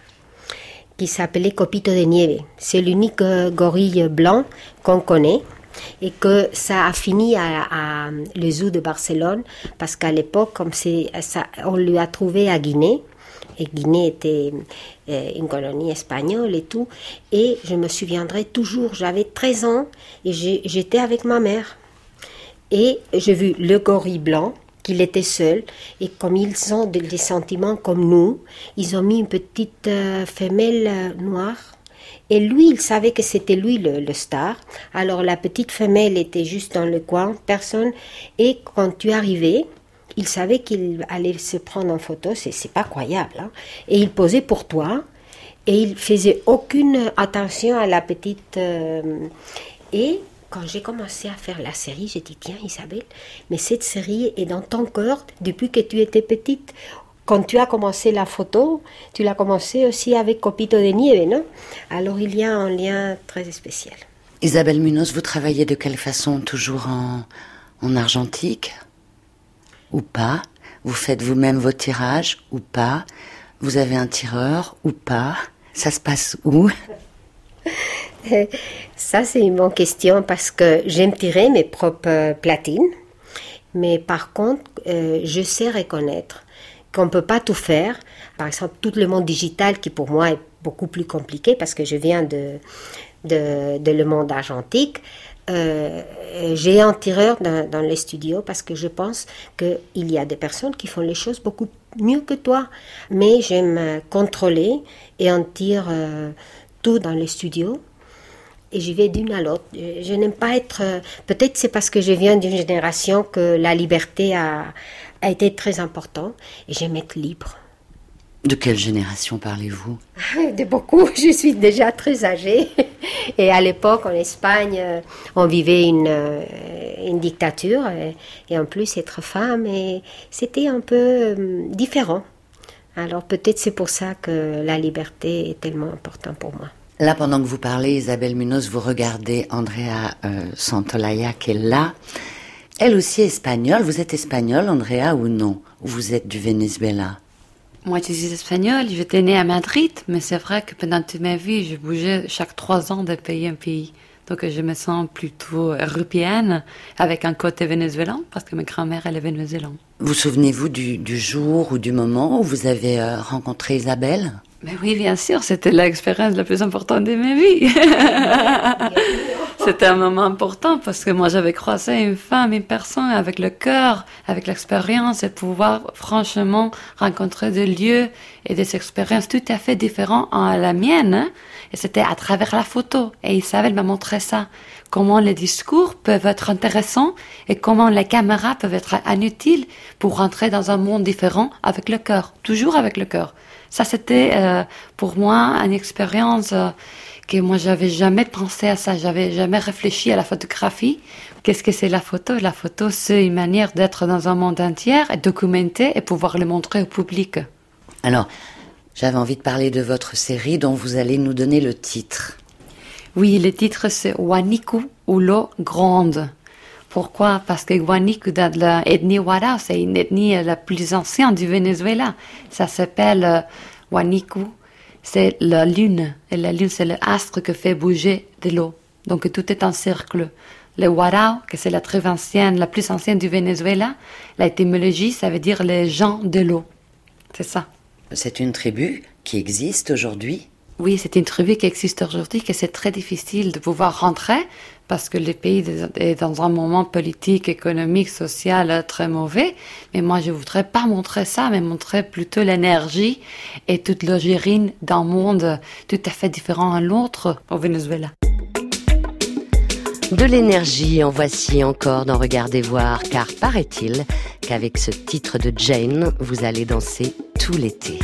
qui s'appelait Copito de Nieve. C'est l'unique euh, gorille blanc qu'on connaît et que ça a fini à, à le zoo de Barcelone parce qu'à l'époque, comme c'est, ça, on lui a trouvé à Guinée. Et Guinée était euh, une colonie espagnole et tout. Et je me souviendrai toujours, j'avais treize ans et j'ai, j'étais avec ma mère. Et j'ai vu le gorille blanc, qu'il était seul. Et comme ils ont des sentiments comme nous, ils ont mis une petite euh, femelle euh, noire. Et lui, il savait que c'était lui le, le star. Alors la petite femelle était juste dans le coin, personne. Et quand tu arrivais, il savait qu'il allait se prendre en photo, c'est, c'est pas croyable. Hein? Et il posait pour toi, et il faisait aucune attention à la petite. Euh, et quand j'ai commencé à faire la série, j'ai dit tiens Isabelle, mais cette série est dans ton cœur depuis que tu étais petite. Quand tu as commencé la photo, tu l'as commencé aussi avec Copito de Nieve, non ? Alors il y a un lien très spécial. Isabelle Munoz, vous travaillez de quelle façon ? Toujours en, en argentique ? Ou pas? Vous faites vous-même vos tirages ou pas? Vous avez un tireur ou pas? Ça se passe où? Ça, c'est une bonne question parce que j'aime tirer mes propres platines. Mais par contre, euh, je sais reconnaître qu'on ne peut pas tout faire. Par exemple, tout le monde digital qui pour moi est beaucoup plus compliqué parce que je viens de, de, de le monde argentique. Euh, j'ai un tireur dans, dans les studios parce que je pense qu'il y a des personnes qui font les choses beaucoup mieux que toi. Mais j'aime contrôler et en tire euh, tout dans les studios. Et j'y vais d'une à l'autre. Je n'aime pas être... Euh, peut-être c'est parce que je viens d'une génération que la liberté a, a été très importante. Et j'aime être libre. De quelle génération parlez-vous ? De beaucoup. Je suis déjà très âgée. Et à l'époque, en Espagne, on vivait une, une dictature. Et, et en plus, être femme, et c'était un peu différent. Alors peut-être c'est pour ça que la liberté est tellement importante pour moi. Là, pendant que vous parlez, Isabelle Munoz, vous regardez Andrea euh, Santolaya qui est là. Elle aussi est espagnole. Vous êtes espagnole, Andrea, ou non ? Ou vous êtes du Venezuela ? Moi, je suis espagnole, j'étais née à Madrid, mais c'est vrai que pendant toute ma vie, je bougeais chaque trois ans de pays en pays. Donc, je me sens plutôt européenne, avec un côté vénézuélien, parce que ma grand-mère, elle est vénézuélienne. Vous souvenez-vous du, du jour ou du moment où vous avez euh, rencontré Isabelle ? Mais oui, bien sûr, c'était l'expérience la plus importante de ma vie. c'était un moment important parce que moi j'avais croisé une femme, une personne avec le cœur, avec l'expérience et pouvoir franchement rencontrer des lieux et des expériences tout à fait différentes à la mienne. Hein? Et c'était à travers la photo. Et Isabelle m'a montré ça. Comment les discours peuvent être intéressants et comment les caméras peuvent être inutiles pour rentrer dans un monde différent avec le cœur. Toujours avec le cœur. Ça, c'était euh, pour moi une expérience euh, que moi, j'avais jamais pensé à ça. J'avais jamais réfléchi à la photographie. Qu'est-ce que c'est la photo? La photo, c'est une manière d'être dans un monde entier, et documenter et pouvoir le montrer au public. Alors, j'avais envie de parler de votre série dont vous allez nous donner le titre. Oui, le titre c'est Waniku ou l'eau grande. Pourquoi? Parce que Waniku, dans l'ethnie Wara, c'est une ethnie la plus ancienne du Venezuela. Ça s'appelle euh, Waniku. C'est la lune. Et la lune, c'est l'astre qui fait bouger de l'eau. Donc tout est en cercle. Le Warao, que c'est la très ancienne, la plus ancienne du Venezuela, l'étymologie, ça veut dire les gens de l'eau. C'est ça. C'est une tribu qui existe aujourd'hui? Oui, c'est une tribu qui existe aujourd'hui, que c'est très difficile de pouvoir rentrer parce que le pays est dans un moment politique, économique, social très mauvais. Mais moi, je voudrais pas montrer ça, mais montrer plutôt l'énergie et toute l'origine d'un monde tout à fait différent à l'autre au Venezuela. De l'énergie, en voici encore dans Regardez voir, car paraît-il qu'avec ce titre de Jane, vous allez danser tout l'été.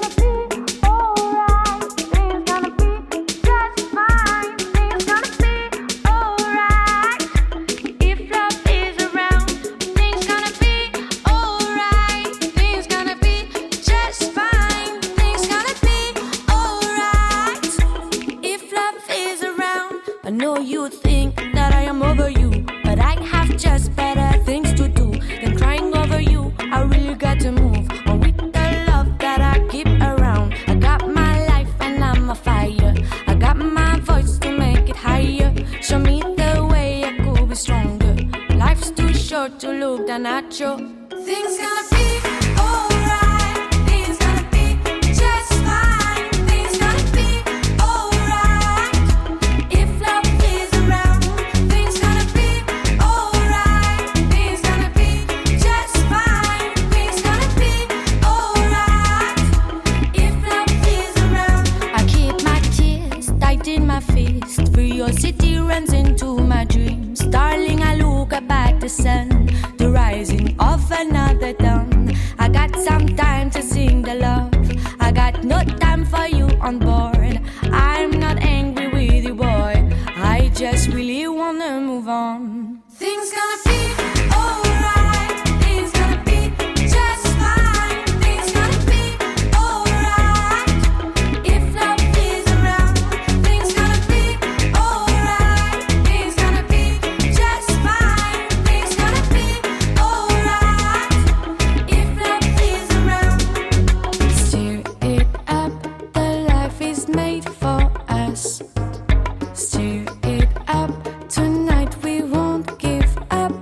To look down at you. Things gonna be alright. Things gonna be just fine. Things gonna be alright. If love is around, things gonna be alright. Things gonna be just fine. Things gonna be alright. If love is around, I keep my tears tight in my fist. Curiosity runs into my dreams. Darling, I look up at the sun, the rising of another dawn. I got some time to sing the love. I got no time for you on board. I'm not angry with you, boy. I just really wanna move on. Things gonna be alright. Things gonna be just fine. Things gonna be alright. If love is around, things gonna be alright. Things gonna be just fine. Things gonna be alright. If love is around, stir it up. The life is made for us. Stir it up. Tonight we won't give up.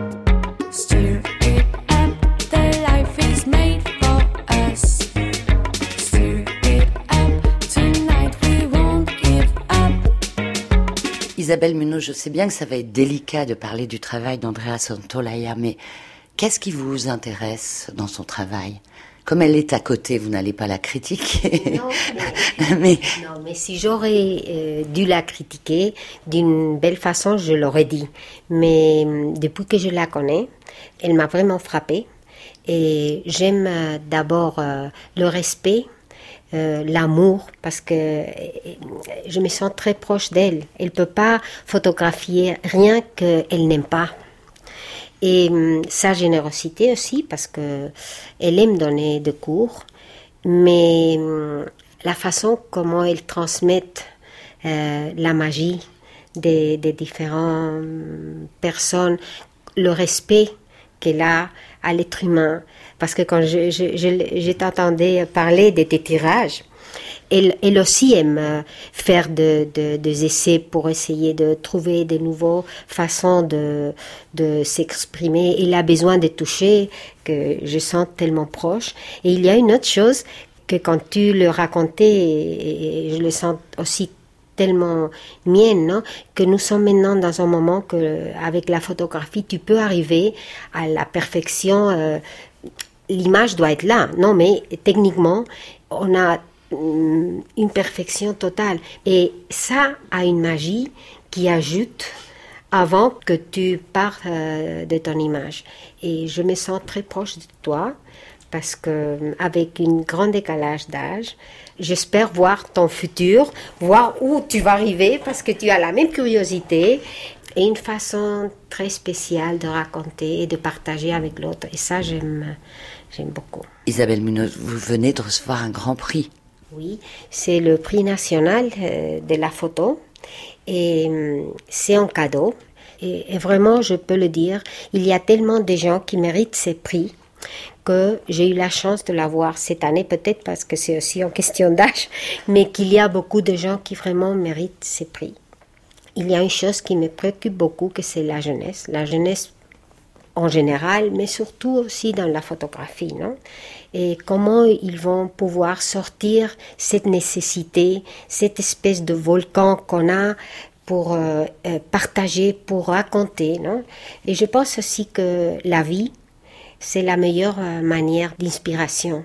Stir it up. The life is made for us. Stir it up. Tonight we won't give up. Isabelle Munoz, je sais bien que ça va être délicat de parler du travail d'Andrea Santolaya, mais qu'est-ce qui vous intéresse dans son travail? Comme elle est à côté, vous n'allez pas la critiquer. Non, mais, mais non, mais si j'aurais euh, dû la critiquer d'une belle façon, je l'aurais dit. Mais euh, depuis que je la connais, elle m'a vraiment frappée. Et j'aime euh, d'abord euh, le respect, euh, l'amour, parce que euh, je me sens très proche d'elle. Elle ne peut pas photographier rien qu'elle n'aime pas. Et hum, sa générosité aussi, parce que elle aime donner des cours, mais hum, la façon comment elle transmet euh, la magie des, des différentes hum, personnes, le respect qu'elle a à l'être humain. Parce que quand je, je, je, je t'entendais parler de tes tirages, Elle, elle aussi aime faire de, de, des essais pour essayer de trouver de nouvelles façons de, de s'exprimer. Elle a besoin de toucher, que je sens tellement proche. Et il y a une autre chose que quand tu le racontais, et je le sens aussi tellement mienne, non, que nous sommes maintenant dans un moment que, avec la photographie, tu peux arriver à la perfection. Euh, l'image doit être là, non, mais techniquement, on a hum, une perfection totale. Et ça a une magie qui ajoute avant que tu partes euh, de ton image. Et je me sens très proche de toi parce que avec un grand décalage d'âge, j'espère voir ton futur, voir où tu vas arriver parce que tu as la même curiosité et une façon très spéciale de raconter et de partager avec l'autre. Et ça, j'aime, j'aime beaucoup. Isabelle Munoz, vous venez de recevoir un grand prix. Oui, c'est le prix national euh, de la photo. Et c'est un cadeau. Et, et vraiment, je peux le dire, il y a tellement de gens qui méritent ces prix que j'ai eu la chance de l'avoir cette année, peut-être parce que c'est aussi en question d'âge, mais qu'il y a beaucoup de gens qui vraiment méritent ces prix. Il y a une chose qui me préoccupe beaucoup, que c'est la jeunesse. La jeunesse en général, mais surtout aussi dans la photographie, non? Et comment ils vont pouvoir sortir cette nécessité, cette espèce de volcan qu'on a pour euh, partager, pour raconter, non? Et je pense aussi que la vie, c'est la meilleure manière d'inspiration.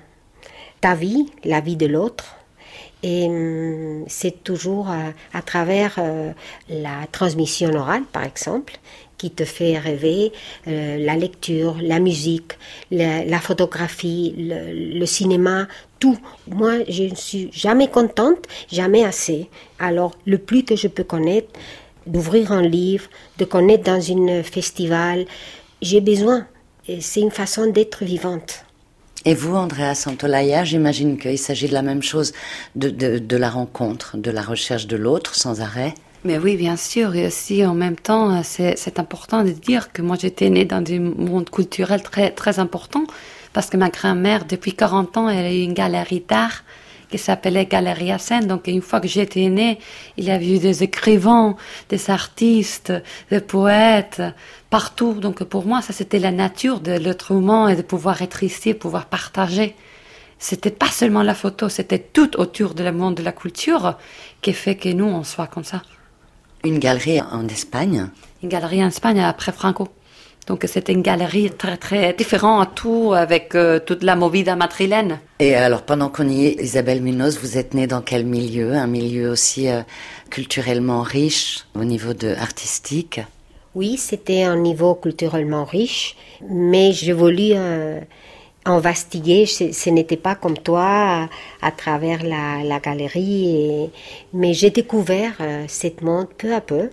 Ta vie, la vie de l'autre, et hum, c'est toujours euh, à travers euh, la transmission orale, par exemple, qui te fait rêver, euh, la lecture, la musique, la, la photographie, le, le cinéma, tout. Moi, je ne suis jamais contente, jamais assez. Alors, le plus que je peux connaître, d'ouvrir un livre, de connaître dans un festival, j'ai besoin. Et c'est une façon d'être vivante. Et vous, Andrea Santolaya, j'imagine qu'il s'agit de la même chose, de, de, de la rencontre, de la recherche de l'autre sans arrêt. Mais oui, bien sûr. Et aussi, en même temps, c'est, c'est important de dire que moi, j'étais née dans un monde culturel très, très important parce que ma grand-mère, depuis quarante ans, elle a eu une galerie d'art qui s'appelait Galerie Hassen. Donc, une fois que j'étais née, il y avait eu des écrivains, des artistes, des poètes, partout. Donc, pour moi, ça, c'était la nature de l'être humain et de pouvoir être ici, pouvoir partager. C'était pas seulement la photo, c'était tout autour de le monde de la culture qui fait que nous, on soit comme ça. Une galerie en Espagne? Une galerie en Espagne après Franco. Donc c'était une galerie très très différente à tout, avec euh, toute la movida madrilène. Et alors pendant qu'on y est, Isabelle Munoz, vous êtes née dans quel milieu? Un milieu aussi euh, culturellement riche au niveau de artistique? Oui, c'était un niveau culturellement riche, mais j'ai voulu euh, investiguer. Ce, ce n'était pas comme toi à, à travers la, la galerie, et, mais j'ai découvert euh, ce monde peu à peu.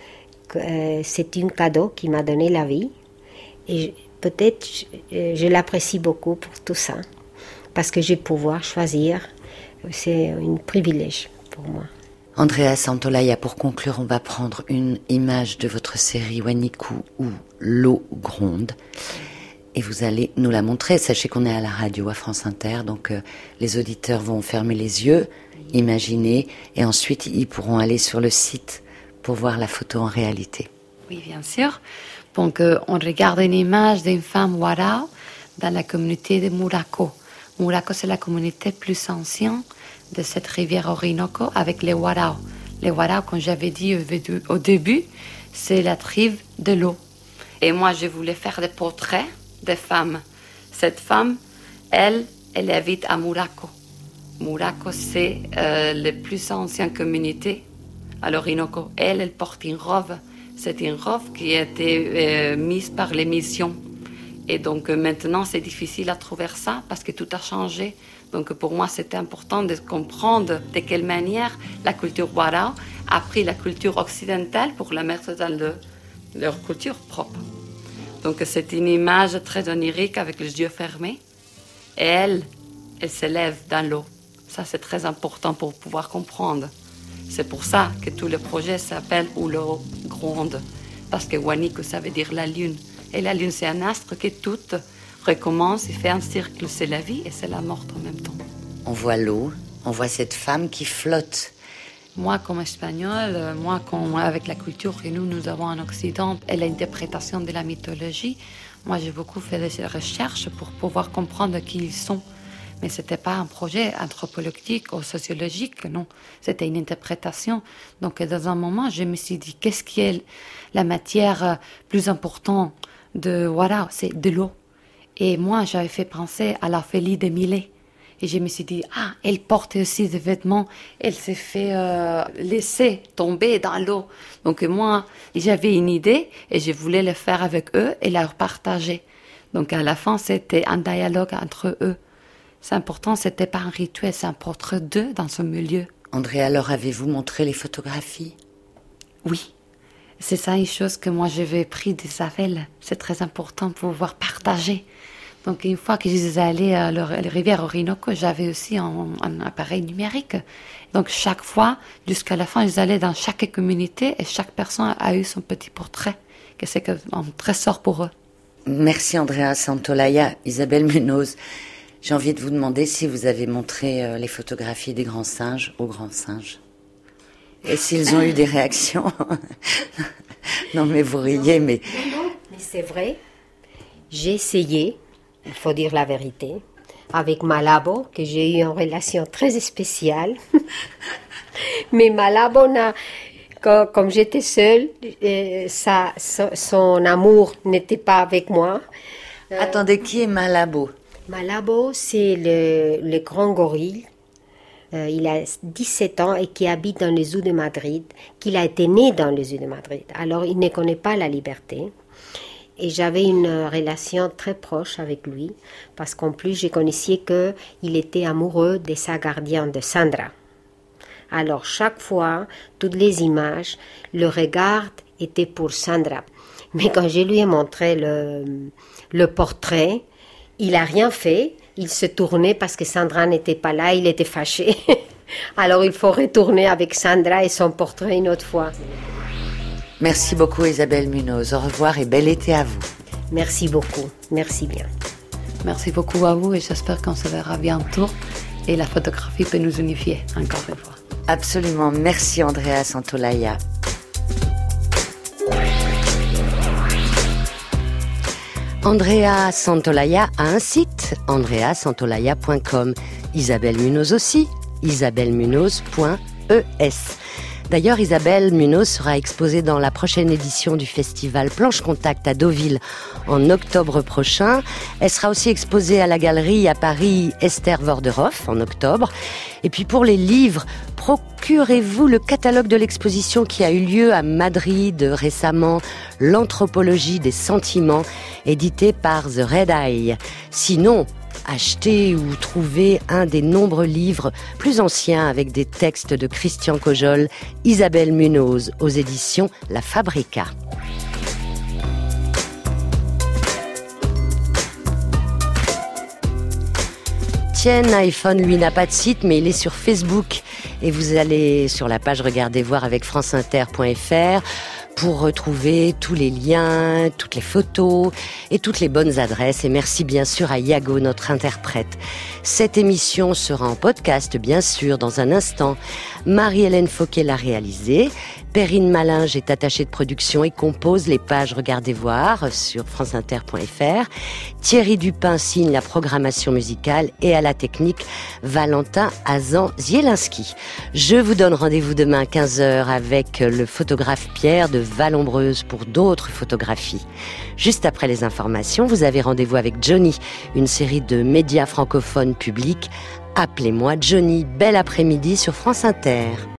Euh, c'est un cadeau qui m'a donné la vie et peut-être je, je l'apprécie beaucoup pour tout ça parce que je vais pouvoir choisir, c'est un privilège pour moi. Andrea Santolaya, pour conclure, on va prendre une image de votre série Waniku où l'eau gronde et vous allez nous la montrer. Sachez qu'on est à la radio à France Inter, donc euh, les auditeurs vont fermer les yeux, imaginer, et ensuite ils pourront aller sur le site pour voir la photo en réalité. Oui, bien sûr. Donc, euh, on regarde une image d'une femme warao dans la communauté de Muraco. Muraco, c'est la communauté plus ancienne de cette rivière Orinoco avec les warao. Les warao, comme j'avais dit au, au début, c'est la tribu de l'eau. Et moi, je voulais faire des portraits de femmes. Cette femme, elle, elle habite à Muraco. Muraco, c'est euh, la plus ancienne communauté à l'Orinoco. Elle, elle porte une robe. C'est une robe qui a été euh, mise par les missions. Et donc euh, maintenant, c'est difficile à trouver ça parce que tout a changé. Donc pour moi, c'était important de comprendre de quelle manière la culture warao a pris la culture occidentale pour la mettre dans le, leur culture propre. Donc c'est une image très onirique avec les yeux fermés. Et elle, elle s'élève dans l'eau. Ça, c'est très important pour pouvoir comprendre. C'est pour ça que tout le projet s'appelle Où l'eau gronde. Parce que Waniku, ça veut dire la lune. Et la lune, c'est un astre qui tout recommence et fait un cercle. C'est la vie et c'est la mort en même temps. On voit l'eau, on voit cette femme qui flotte. Moi, comme espagnole, moi, comme, avec la culture que nous, nous avons en Occident et l'interprétation de la mythologie, moi, j'ai beaucoup fait des recherches pour pouvoir comprendre qui ils sont. Mais ce n'était pas un projet anthropologique ou sociologique, non. C'était une interprétation. Donc, dans un moment, je me suis dit, qu'est-ce qui est la matière plus importante de, voilà, c'est de l'eau. Et moi, j'avais fait penser à l'Ophélie de Millet. Et je me suis dit, ah, elle porte aussi des vêtements, elle s'est fait euh, laisser tomber dans l'eau. Donc moi, j'avais une idée et je voulais le faire avec eux et leur partager. Donc à la fin, c'était un dialogue entre eux. C'est important, c'était pas un rituel, c'est un portrait d'eux dans ce milieu. André, alors avez-vous montré les photographies? Oui. C'est ça une chose que moi j'avais pris d'Isabelle. C'est très important pour pouvoir partager. Donc, une fois que je suis allée à la rivière Orinoco, j'avais aussi un, un appareil numérique. Donc, chaque fois, jusqu'à la fin, je suis allée dans chaque communauté et chaque personne a eu son petit portrait, que c'est un trésor pour eux. Merci Andrea Santolaya. Isabelle Munoz, j'ai envie de vous demander si vous avez montré les photographies des grands singes aux grands singes. Et s'ils ont eu des réactions. Non, mais vous riez, mais... Non, non, mais c'est vrai. J'ai essayé. Il faut dire la vérité, avec Malabo, que j'ai eu une relation très spéciale. Mais Malabo, n'a, comme, comme j'étais seule, euh, ça, son, son amour n'était pas avec moi. Euh, Attendez, qui est Malabo? Malabo, c'est le, le grand gorille. Euh, il a dix-sept ans et qui habite dans les zoos de Madrid, qu'il a été né dans les zoos de Madrid. Alors, il ne connaît pas la liberté. Et j'avais une relation très proche avec lui, parce qu'en plus, je connaissais qu'il était amoureux de sa gardienne, de Sandra. Alors, chaque fois, toutes les images, le regard était pour Sandra. Mais quand je lui ai montré le, le portrait, il n'a rien fait. Il se tournait parce que Sandra n'était pas là, il était fâché. Alors, il faut retourner avec Sandra et son portrait une autre fois. Merci beaucoup Isabelle Munoz. Au revoir et bel été à vous. Merci beaucoup. Merci bien. Merci beaucoup à vous et j'espère qu'on se verra bientôt et la photographie peut nous unifier encore une fois. Absolument. Merci Andrea Santolaya. Andrea Santolaya a un site, andrea santolaya point com. Isabelle Munoz aussi, isabelle munoz point e s. D'ailleurs, Isabelle Munoz sera exposée dans la prochaine édition du festival Planche Contact à Deauville en octobre prochain. Elle sera aussi exposée à la galerie à Paris Esther Vorderhoff en octobre. Et puis pour les livres, procurez-vous le catalogue de l'exposition qui a eu lieu à Madrid récemment, L'anthropologie des sentiments, édité par The Red Eye. Sinon, achetez ou trouvez un des nombreux livres plus anciens avec des textes de Christian Cojol, Isabelle Munoz, aux éditions La Fabrica. Tiens, iPhone, lui, n'a pas de site, mais il est sur Facebook. Et vous allez sur la page Regardez voir avec franceinter point f r pour retrouver tous les liens, toutes les photos et toutes les bonnes adresses. Et merci bien sûr à Iago, notre interprète. Cette émission sera en podcast, bien sûr, dans un instant. Marie-Hélène Fauquet l'a réalisée. Perrine Malinge est attachée de production et compose les pages Regardez voir sur franceinter point f r. Thierry Dupin signe la programmation musicale et à la technique, Valentin Azan-Zielinski. Je vous donne rendez-vous demain à quinze heures avec le photographe Pierre de Vallombreuse pour d'autres photographies. Juste après les informations, vous avez rendez-vous avec Johnny, une série de médias francophones publics. Appelez-moi Johnny. Bel après-midi sur France Inter.